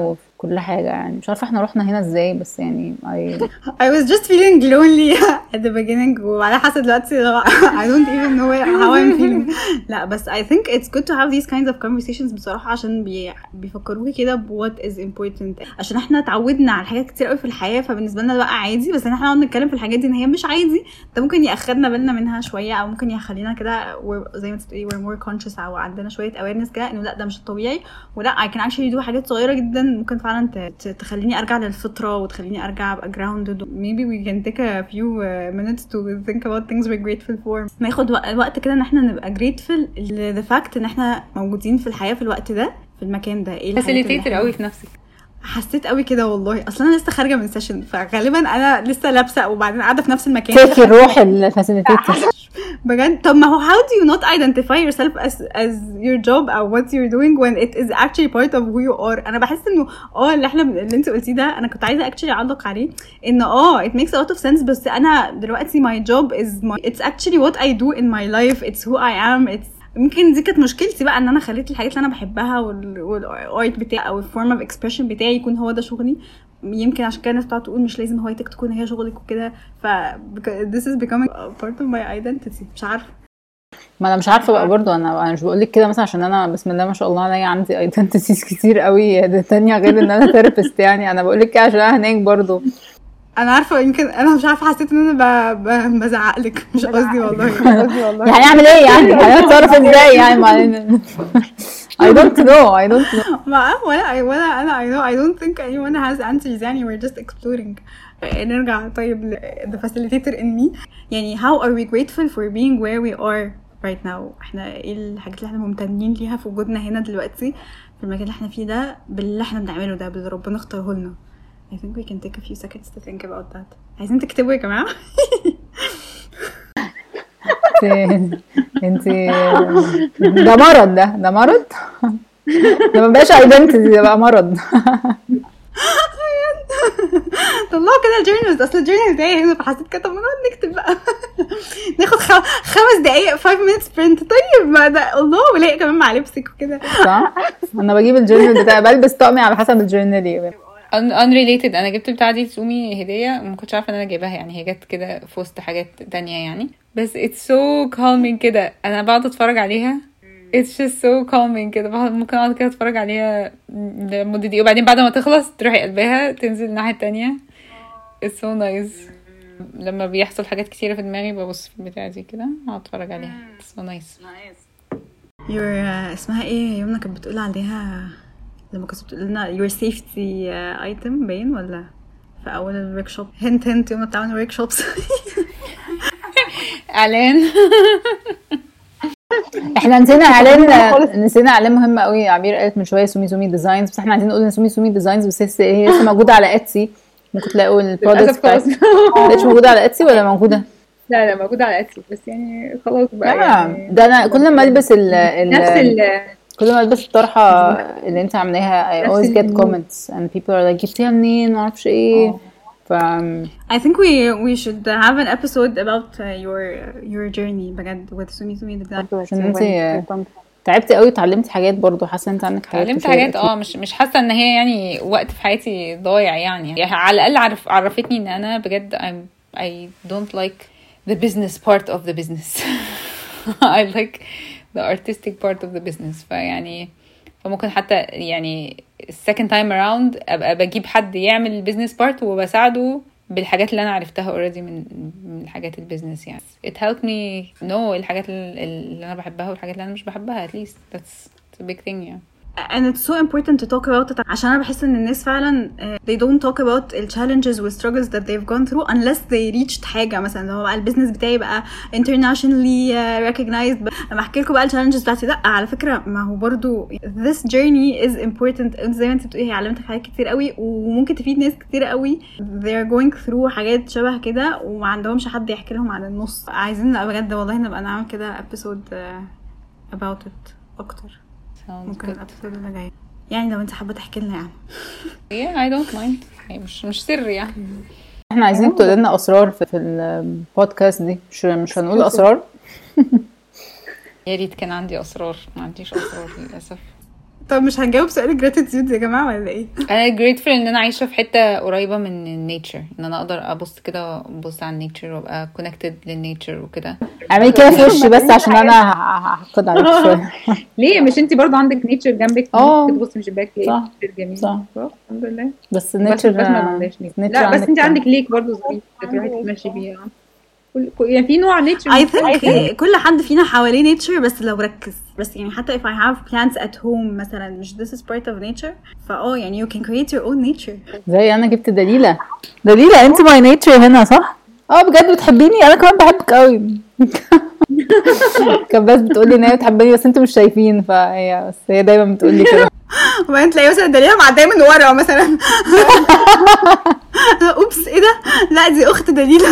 [SPEAKER 2] كل حاجه يعني. مش عارفه احنا رحنا هنا ازاي، بس يعني I...
[SPEAKER 1] I was just feeling lonely at the beginning وعلى حسب دلوقتي I don't even know how I'm feeling. لا بس I think it's good to have these kinds of conversations بصراحة، عشان بي... بيفكروكي كده ب what is important. عشان احنا اتعودنا على حاجات كتير قوي في الحياة، فبالنسبة لنا بقى عادي، بس احنا نقعد نتكلم في الحاجات دي ان هي مش عادي، ده ممكن يأخدنا بالنا منها شوية، او ممكن يخلينا كده زي ما تقولي we're more conscious، او عندنا شوية awareness كده انه لا ده مش الطبيعي، ولا I can actually do حاجات صغيرة جدا ممكن فعلا ت... تخليني ارجع للفطرة وتخليني ارجع ابقى grounded. maybe we can take a few uh, minutes to think about things we're grateful for. ناخد وقت كده ان احنا نبقى grateful the fact ان احنا موجودين في الحياة في الوقت ده في المكان ده. ايه
[SPEAKER 3] facilitator قوي في نفسك.
[SPEAKER 1] حسيت قوي كده والله، اصلا انا لسه خارجه من سيشن، فغالبا انا لسه لابسه وبعدين قاعده في نفس المكان.
[SPEAKER 2] تاكي الروح الفاسيليتيتور
[SPEAKER 1] بجد. طب ما هو how do you not identify yourself as as your job او what you're doing when it is actually part of who you are. انا بحس انه اه اللي احنا اللي انت قلتيه ده انا كنت عايزه actually اعلق عليه، ان اه it makes a lot of sense، بس انا دلوقتي my job is my it's actually what I do in my life, it's who I am. it's يمكن دي كانت مشكلتي بقى، ان انا خليت الحاجات اللي انا بحبها والارت بتاعي او الفورم اوف اكسبريشن بتاعي يكون هو ده شغلي. يمكن عشان كده الناس بتقعد تقول مش لازم هوايتك تكون هي شغلك وكده، ف this is becoming part of my identity. مش عارفه،
[SPEAKER 2] ما انا مش عارفه بقى برضو. انا انا مش بقول لك كده مثلا عشان انا بسم الله ما شاء الله عليا عندي ايدنتيتيز كتير قوي ده تانية غير ان انا ثيرابيست يعني. انا بقول لك كده عشان انا هناك برضو.
[SPEAKER 1] انا عارفه يمكن انا مش عارفه، حسيت ان انا ب... ب... بزعق لك، مش قصدي والله.
[SPEAKER 4] قصدي والله
[SPEAKER 2] يعني اعمل ايه يعني؟ هنتصرف ازاي يعني؟ ما I don't know I don't know
[SPEAKER 1] ما ولا ولا انا I know I don't think anyone has answers يعني. we're just exploring. نرجع طيب ل the facilitator in me. يعني how are we grateful for being where we are right now؟ احنا ايه الحاجات اللي احنا ممتنين ليها في وجودنا هنا دلوقتي في المكان اللي احنا فيه ده، باللي احنا بنعمله ده، باللي ربنا اختاره لنا. I think we can take a few seconds to think about that. عايزين تكتبوا يا جماعة.
[SPEAKER 2] انت ده مرض، ده ده مرض ده ما بقاش ايدنتيتي، ده بقى مرض.
[SPEAKER 1] طلعوا كده الجورنالز، اصل الجورنال بتاعي هنا، فحسيت كده طب ما نقعد نكتب بقى. ناخد خمس دقايق five minutes print. طيب ما ده الله، ولاقي كمان مع لبسك وكده.
[SPEAKER 2] صح، انا بجيب الجورنال بتاعي بلبس طقمي على حسب الجورنال.
[SPEAKER 3] unrelated. انا جبت بتاع دي لسومي هديه، ما كنتش عارفه ان انا جايباها يعني، هي جت كده في وسط حاجات تانية يعني، بس it's so calming كده. انا بقعد اتفرج عليها it's just so calming كده. ممكن اقعد كده اتفرج عليها لمده دقيقه، وبعدين بعد ما تخلص تروحي قلبها تنزل الناحيه التانية. it's so nice. لما بيحصل حاجات كتيره في دماغي ببص في البتاع دي كده اقعد اتفرج عليها. it's so nice.
[SPEAKER 1] your uh, اسمها ايه يومنا كانت بتقول عليها لما كنت بتقول لنا your safety uh, item باين ولا في اول الورك شوب؟ هنت هنت يوم بتعمل ورك شوبس.
[SPEAKER 3] اعلان.
[SPEAKER 2] احنا نسينا اعلان، نسينا اعلان مهم قوي. عبير قالت من شويه سومي سومي ديزاينز، بس احنا عايزين نقول ان سومي سومي ديزاينز بس هي لسه موجوده على اتسي. ممكن تلاقوا البرودكتس بتاعتها. مش موجوده على اتسي ولا موجوده؟
[SPEAKER 4] لا لا موجوده على اتسي، بس يعني خلاص بقى يعني.
[SPEAKER 2] ده انا كل ما البس ال
[SPEAKER 4] نفس ال
[SPEAKER 2] كل ما البس الطرحه اللي انت عاملاها I always get comments and people are like جبتيها منين ما اعرفش ايه. ف
[SPEAKER 1] I think we we should have an episode about uh, your your journey بجد with سومي سومي ده.
[SPEAKER 2] عشان انت تعبتي قوي وتعلمتي حاجات برضو. حاسه انت عندك حاجات
[SPEAKER 3] تعلمت حاجات اه مش مش حاسه ان هي يعني وقت في حياتي ضايع يعني. يعني على الاقل عرف عرفتني ان انا بجد I'm I don't like the business part of the business. I like the artistic part of the business. فيعني فممكن حتى يعني second time around ابقى بجيب حد يعمل البيزنس بارت وبساعده بالحاجات اللي انا عرفتها already من من الحاجات البيزنس يعني. it helped me know الحاجات اللي انا بحبها والحاجات اللي انا مش بحبها. at least that's a big thing yeah.
[SPEAKER 1] and it's so important to talk about it عشان انا بحس ان الناس فعلا uh, they don't talk about the challenges and struggles that they've gone through unless they reached حاجه. مثلا لو بقى البيزنس بتاعي بقى internationally uh, recognized، لما احكي لكم بقى الchallenges بتاعتي لا على فكره ما هو برضو this journey is important. زي ما انت بتقولي هي علمتك حاجات كتير قوي وممكن تفيد ناس كتير قوي they're going through حاجات شبه كده وما عندهمش حد يحكي لهم عن النص. عايزين لا بجد والله نبقى نعمل كده episode uh, about it اكتر. ممكن الابسود اللي جاي يعني لو انت حابه تحكي لنا يعني.
[SPEAKER 3] yeah I don't mind. مش مش سر يعني.
[SPEAKER 2] احنا عايزين تقول لنا اسرار في, في البودكاست دي. مش مش هنقول اسرار.
[SPEAKER 3] يا ريت كان عندي اسرار، ما عنديش اسرار للاسف.
[SPEAKER 1] طب مش هنجاوب سؤال جراتيتيود يا جماعه ولا ايه؟
[SPEAKER 3] انا grateful ان انا عايشه في حته قريبه من النيتشر، ان انا اقدر ابص كده ابص على النيتشر وابقى كونكتد للنيتشر وكده.
[SPEAKER 2] اعملي كده في وشي بس عشان انا هحقد عليك شويه.
[SPEAKER 4] ليه مش انتي برضو عندك نيتشر جنبك
[SPEAKER 2] اه
[SPEAKER 4] تبصي من الشباك
[SPEAKER 2] صح
[SPEAKER 4] جميل؟
[SPEAKER 2] صح
[SPEAKER 4] الحمد لله.
[SPEAKER 2] بس
[SPEAKER 4] بس
[SPEAKER 2] النيتشر
[SPEAKER 4] بس ما عندهاش نيتشر. لا بس انت عندك ليك برضو ظريف تروحي تتمشي بيها. يعني في نوع نيتشر
[SPEAKER 1] I think كل حد فينا حواليه نيتشر بس لو ركز. بس يعني حتى if I have plants at home مثلا مش this is part of nature فاه يعني you can create your own nature.
[SPEAKER 2] زي انا جبت دليلة دليلة انت my nature هنا صح؟ اه بجد بتحبيني؟ انا كمان بحبك قوي. كان بس بتقولي ان هي بتحبني بس انتوا مش شايفين فهي بس هي دايما بتقولي كده.
[SPEAKER 1] وبعدين تلاقي مثلا دليلة معدية من ورا مثلا. اوبس ايه ده؟ لا دي اخت دليلة.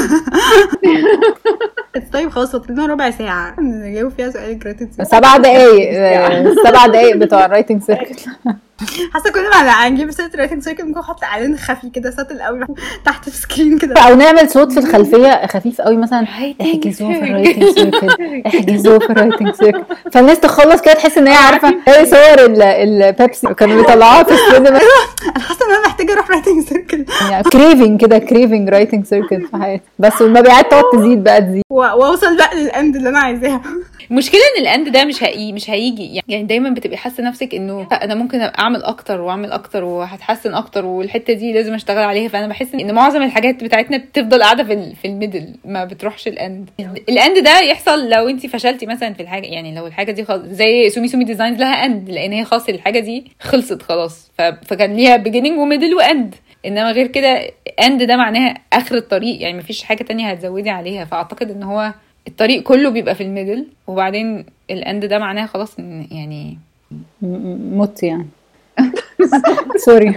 [SPEAKER 1] طيب خلاص فاضلنا ربع ساعة نجاوب فيها سؤال جراتيتيود.
[SPEAKER 2] سبع دقايق سبع دقايق بتوع الرايتنج سيركل.
[SPEAKER 1] حاسه كل ما هنجيب سيره الرايتنج سيركل ممكن نحط اعلان خفي كده سطل قوي تحت في سكرين كده
[SPEAKER 2] او نعمل صوت في الخلفيه خفيف قوي مثلا احجزوه في الرايتنج سيركل احجزوه في الرايتنج سيركل فالناس تخلص كده تحس ان هي عارفه ايه صور البيبسي كانوا بيطلعوها في السينما.
[SPEAKER 1] انا حاسه ان انا محتاجه اروح رايتنج سيركل
[SPEAKER 2] يعني كريفنج كده كريفنج رايتنج سيركل في حياتي بس والمبيعات تقعد تزيد بقى تزيد
[SPEAKER 1] واوصل بقى للاند اللي انا عايزاها.
[SPEAKER 3] المشكله ان الاند ده مش هيجي مش هيجي يعني دايما بتبقي حاسه نفسك انه انا ممكن اعمل اكتر واعمل اكتر وهتحسن اكتر والحته دي لازم اشتغل عليها. فانا بحس ان معظم الحاجات بتاعتنا بتفضل قاعده في في الميدل ما بتروحش الاند. الاند ده يحصل لو انت فشلتي مثلا في الحاجه يعني لو الحاجه دي خلاص زي سومي سومي ديزاينز لها اند لان هي خلاص الحاجه دي خلصت خلاص فكان ليها بيجيننج وميدل واند. انما غير كده اند ده معناها اخر الطريق يعني مفيش حاجه تانية هتزودي عليها. فاعتقد ان هو الطريق كله بيبقى في الميدل وبعدين الاند ده معناها خلاص يعني
[SPEAKER 2] موت يعني. سوري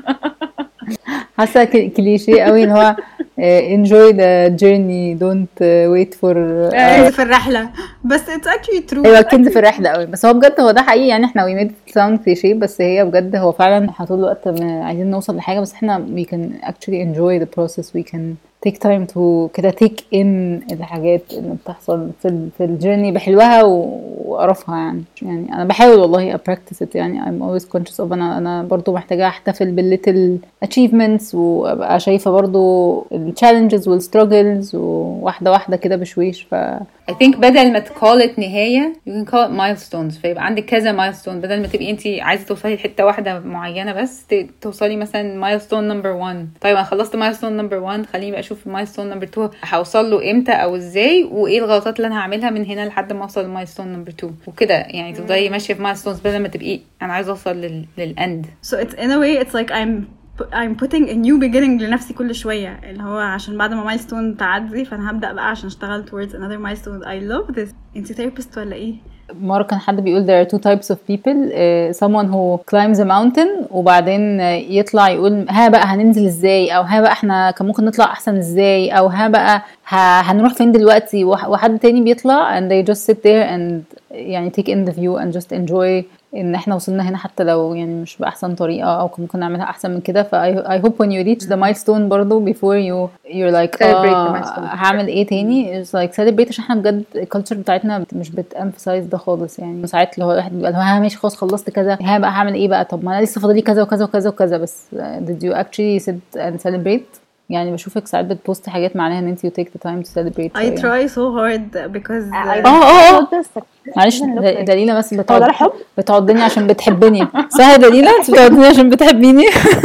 [SPEAKER 2] حاسه كليشيه قوي ان هو enjoy the journey don't wait for
[SPEAKER 1] كنز في الرحله بس it's actually true.
[SPEAKER 2] ايوه كنز في الرحله قوي بس هو بجد هو ده حقيقي يعني احنا we made it sound cliché بس هي بجد هو فعلا احنا طول الوقت عايزين نوصل لحاجه بس احنا we can actually enjoy the process we can take time to كده take in الحاجات اللي بتحصل في في الجيرني بحلوها وقرفها يعني يعني انا بحاول والله practice it يعني I'm always conscious of انا انا برضو محتاجه احتفل بالليتل achievements وابقى شايفه برضو الchallenges والstruggles وواحده واحده كده بشويش. ف
[SPEAKER 3] I think بدل ما تcall it نهايه you can call it milestones فيبقى عندك كذا milestone بدل ما تبقي انت عايزه توصلي لحته واحده معينه بس توصلي مثلا milestone number one. طيب انا خلصت milestone number one خليني بقى اشوف milestone number two هوصل له امتى او ازاي وايه الغلطات اللي انا هعملها من هنا لحد ما اوصل لمايلستون نمبر two وكده يعني تفضلي ماشيه في milestones بدل ما تبقي انا عايزه اوصل لل للاند.
[SPEAKER 1] So it's in a way it's like I'm I'm putting a new beginning لنفسي كل شوية اللي هو عشان بعد ما milestone تعدي فأنا هبدأ بقى عشان اشتغل towards another milestone. I love this. انتي therapist ولا ايه؟
[SPEAKER 2] مرة كان حد بيقول there are two types of people uh, someone who climbs a mountain وبعدين يطلع يقول ها بقى هننزل ازاي او ها بقى احنا كان ممكن نطلع احسن ازاي او ها بقى هنروح فين دلوقتي وحد تاني بيطلع and they just sit there and يعني take in the view and just enjoy ان احنا وصلنا هنا حتى لو يعني مش بأحسن طريقة او كان ممكن نعملها احسن من كده. ف I hope when you reach the milestone برضو before you you're like اه هعمل ايه تاني it's like celebrate عشان احنا بجد الكالتشر بتاعتنا مش بتemphasize ده خالص يعني. ساعات اللي هو الواحد بيبقى ها ماشي خلاص خلصت كذا ها بقى هعمل ايه بقى طب ما انا لسه فاضلي كذا وكذا وكذا وكذا بس did you actually sit and celebrate يعني بشوفك ساعات بتبوست حاجات معناها ان انت you take the time to celebrate.
[SPEAKER 1] I try so hard because
[SPEAKER 2] اه اه اه معلش دليلة بس بتقعد بتقعدني عشان بتحبني صح دليلة انت بتقعدني عشان بتحبيني.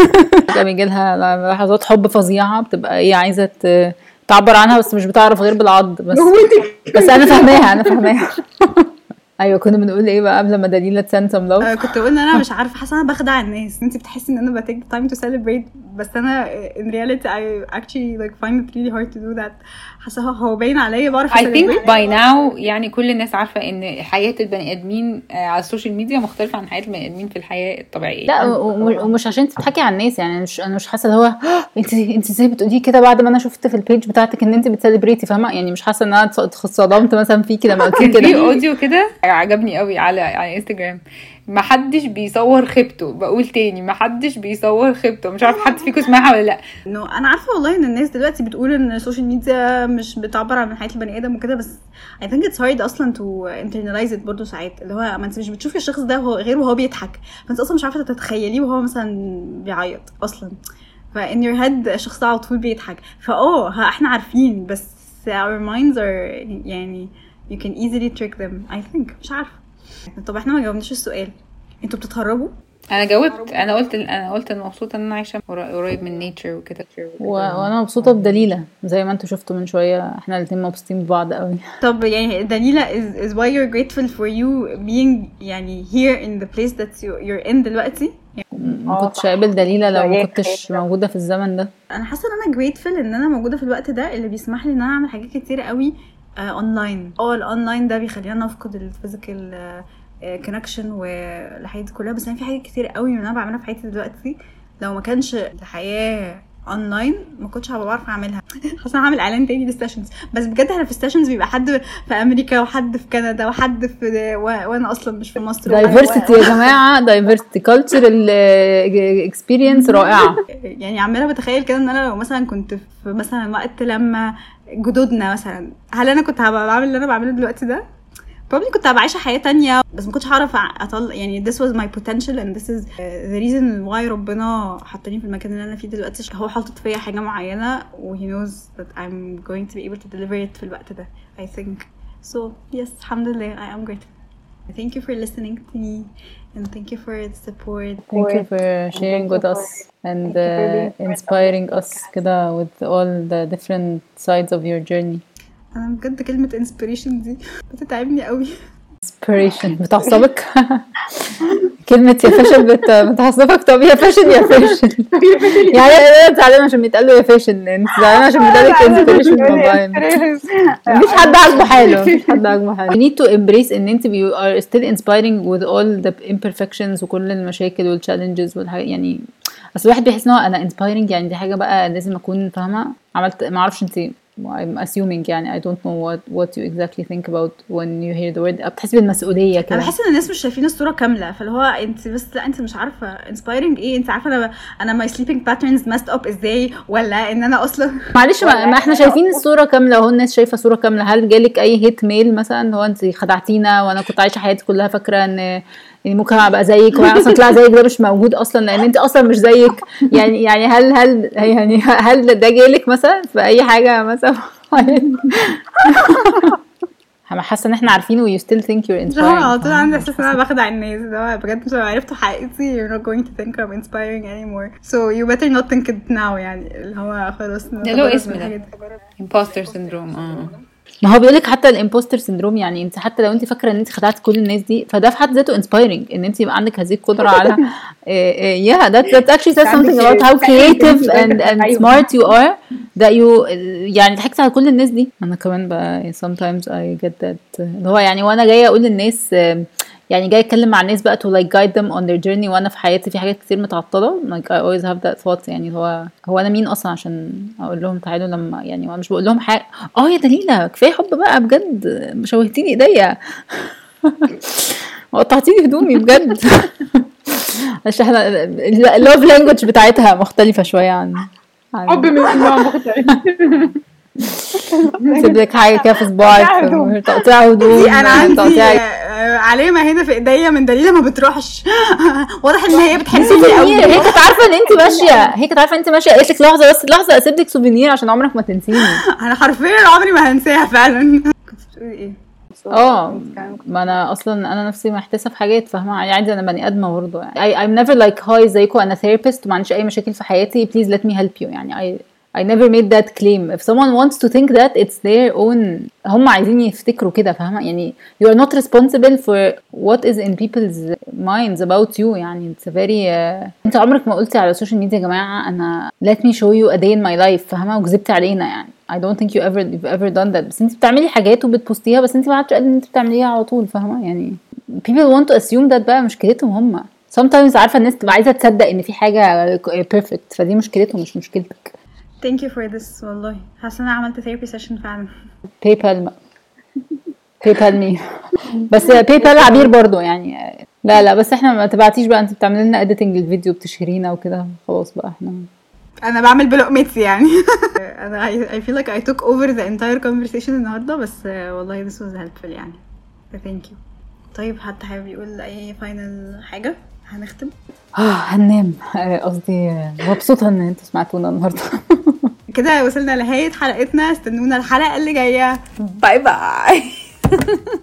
[SPEAKER 2] بيجي لها لحظات حب فظيعة بتبقى ايه عايزة تعبر عنها بس مش بتعرف غير بالعض بس بس انا فاهماها انا فاهماها. ايوه كنا بنقول ايه بقى قبل ما دليلة تسند سم لوف؟
[SPEAKER 1] كنت بقول ان انا مش عارفه حاسه انا بخدع الناس. انت بتحسي ان انا بتيك تايم تو سيلبريت بس انا in reality I actually like find it really hard to do that. حاسه هو باين عليا بعرف
[SPEAKER 3] I think by now يعني كل الناس عارفه ان حياه البني ادمين على السوشيال ميديا مختلفه عن حياه البني ادمين في الحياه الطبيعيه.
[SPEAKER 2] لا ومش عشان تضحكي على الناس يعني مش انا مش حاسه اللي هو انت انت ازاي بتقولي كده بعد ما انا شفت في البيج بتاعتك ان انت بتسيلبريتي فاهمه يعني مش حاسه ان انا اتصدمت مثلا فيكي لما قلتي كده.
[SPEAKER 3] في اوديو كده عجبني قوي على على انستغرام ما حدش بيصور خيبته. بقول تاني ما حدش بيصور خيبته. مش عارف حد فيكم سمعها ولا لا.
[SPEAKER 1] انه انا عارفه والله ان الناس دلوقتي بتقول ان السوشيال ميديا مش بتعبر عن حياه البني ادم وكده، بس I think it's hard اصلا to internalize it برضه ساعات. اللي هو ما انت مش بتشوفي الشخص ده وهو غير وهو بيضحك، فانت اصلا مش عارفه تتخيليه وهو مثلا بيعيط اصلا. ف in your head الشخص ده على طول بيضحك. فاه ها احنا عارفين، بس our minds are يعني you can easily trick them I think. مش عارفه. طب احنا ما جاوبناش السؤال، انتوا بتتهربوا؟
[SPEAKER 3] انا جاوبت. انا قلت انا قلت ان مبسوطه ان انا عايشه قريب من نيتشر وكده.
[SPEAKER 2] و... وانا مبسوطه بدليله زي ما انتوا شفتوا من شويه، احنا الاثنين مبسوطين ببعض قوي.
[SPEAKER 1] طب يعني دليله is, is why you're grateful for you being يعني here in the place that you, you're in دلوقتي.
[SPEAKER 2] ما كنتش هقابل دليله لو ما كنتش موجوده في الزمن ده.
[SPEAKER 1] انا حاسه ان انا grateful ان انا موجوده في الوقت ده اللي بيسمح لي ان انا اعمل حاجات كتير قوي اونلاين. اه الاونلاين ده بيخلينا نفقد الفيزيكال كونكشن والحاجات دي كلها، بس انا في حاجات كتير قوي من انا بعملها في حياتي دلوقتي لو ما كانش الحياه اونلاين ما كنتش هبقى بعرف اعملها. خلاص انا هعمل اعلان تاني للستيشنز، بس بجد احنا في ستيشنز بيبقى حد في امريكا وحد في كندا وحد في و... وانا اصلا مش في مصر.
[SPEAKER 2] دايفرسيتي يا جماعه، دايفرسيتي كلتشرال اكسبيرينس رائعه.
[SPEAKER 1] يعني عماله بتخيل كده ان انا لو مثلا كنت في مثلا وقت لما جدودنا مثلا، هل انا كنت هبقى بعمل اللي انا بعمله دلوقتي ده؟ probably كنت هبقى عايشه حياه تانية، بس ما كنتش هعرف اطلع يعني this was my potential and this is the reason why ربنا حطني في المكان اللي انا فيه دلوقتي. هو حاطط فيا حاجه معينه و he knows that I'm going to be able to deliver it في الوقت ده I think. so yes الحمد لله I am grateful. Thank you for listening to me and thank you for the support.
[SPEAKER 2] Thank you for sharing with us and uh, inspiring us كده with all the different sides of your journey.
[SPEAKER 1] انا بجد كلمه inspiration دي بتتعبني قوي.
[SPEAKER 2] inspiration بتعصبك؟ كلمه يا فاشل بت... بتعصبك؟ طب يا فاشل يا فاشل يعني انا زعلانه عشان بيتقال له يا فاشل، انت زعلانه عشان بيتقال لك inspiration والله. مفيش حد عاجبه حاله، مفيش حد عاجبه حاله. you need to embrace ان انت you are still inspiring with all the imperfections وكل المشاكل والchallenges والحاجات. يعني اصل الواحد بيحس ان هو انا inspiring يعني دي حاجه بقى لازم اكون فاهمه. عملت ما اعرفش انت I'm assuming يعني I don't know what what you exactly think about when you hear the word. بتحسي بالمسؤوليه كده.
[SPEAKER 1] انا بحس ان الناس مش شايفين الصوره كامله، فاللي هو انت بس لا انت مش عارفه inspiring ايه. انت عارفه انا انا my sleeping patterns messed up ازاي، ولا ان انا اصلا
[SPEAKER 2] معلش ما, ما احنا شايفين الصوره كامله اهو. الناس شايفه صوره كامله. هل جالك اي هيت ميل مثلا هو انت خدعتينا وانا كنت عايشه حياتي كلها فاكره ان يعني ممكن ابقى زيك وانا اصلا طلع زيك؟ ده مش موجود اصلا لان انت اصلا مش زيك. يعني يعني هل هل يعني هل ده جالك مثلا في اي حاجه مثلا؟ انا حاسه ان احنا عارفين و you still think you're inspiring.
[SPEAKER 1] اه طول عندي احساس ان انا بخدع الناس. ده بجد مش عرفتوا حقيقتي you're not going to think I'm inspiring anymore so you better not think it now. يعني اللي هو خلاص
[SPEAKER 3] ده له اسم ده imposter syndrome. اه
[SPEAKER 2] ما هو بيقولك حتى الامبوستر سيندروم. يعني انت حتى لو انت فاكره ان انت خدعت كل الناس دي فده في حد ذاته inspiring ان انت يبقى عندك هذه القدره على yeah that that actually says something about how creative and and smart you are that you يعني ضحكت على كل الناس دي. انا كمان بقى sometimes I get that اللي هو يعني وانا جايه اقول للناس يعني جاي اتكلم مع الناس بقى to like guide them on their journey وانا في حياتي في حاجات كتير متعطله. like I always have that thought. يعني هو هو انا مين اصلا عشان اقول لهم تعالوا لما يعني مش بقول لهم حاجه. اه يا دليله كفايه حب بقى بجد، شوهتيني ايديا وقطعتيني هدومي بجد. عشان احنا اللوف لانجوج بتاعتها مختلفه شويه عن
[SPEAKER 4] حب من النوع مختلف.
[SPEAKER 2] سيب لك حاجه كده في صباعك تقطيع هدوم.
[SPEAKER 1] انا عندي علامه هنا في ايديا من دليله ما بتروحش. واضح ان هي بتحسني قوي.
[SPEAKER 2] هي كانت عارفه ان انت ماشيه هي كانت عارفه ان انت ماشيه قالت لك لحظه بس لحظه اسيب لك سوفينير عشان عمرك ما تنسيني.
[SPEAKER 1] انا حرفيا عمري ما هنساها فعلا. كنت بتقولي ايه؟
[SPEAKER 2] اه ما انا اصلا انا نفسي محتاسه في حاجات فاهمه. عادي انا بني ادمه برضه يعني. I, I'm never like hi زيكم انا therapist وما عنديش اي مشاكل في حياتي please let me help you. يعني I I never made that claim. If someone wants to think that it's their own. هم عايزين يفتكروا كده فاهمة. يعني you are not responsible for what is in people's minds about you. يعني it's a very uh... انت عمرك ما قلتي على السوشيال ميديا يا جماعة انا let me show you a day in my life فاهمة وكذبت علينا. يعني I don't think you ever you've ever done that. بس انت بتعملي حاجات وبتبوستيها بس انت ما عادش قادرة ان انت بتعمليها على طول فاهمة. يعني people want to assume that بقى مشكلتهم هم. sometimes عارفة الناس تبقى عايزة تصدق ان في حاجة perfect فدي مشكلتهم مش مشكلتك.
[SPEAKER 1] Thank you for this والله. حاسه انا عملت therapy session فعلا.
[SPEAKER 2] PayPal PayPal me. بس PayPal عبير برضو يعني لا لا بس احنا ما تبعتيش بقى، انت بتعملي لنا اديتنج الفيديو بتشهرينا وكده، خلاص بقى احنا
[SPEAKER 1] انا بعمل بلقمتي يعني. انا I feel like I took over the entire conversation النهارده، بس والله this was helpful يعني. thank you. طيب حتى حابب يقول اي فاينل حاجه هنختم؟
[SPEAKER 2] اه هننام. قصدي مبسوطه ان انتوا سمعتونا النهارده.
[SPEAKER 1] كده وصلنا لنهايه حلقتنا، استنونا الحلقه اللي جايه.
[SPEAKER 3] باي باي.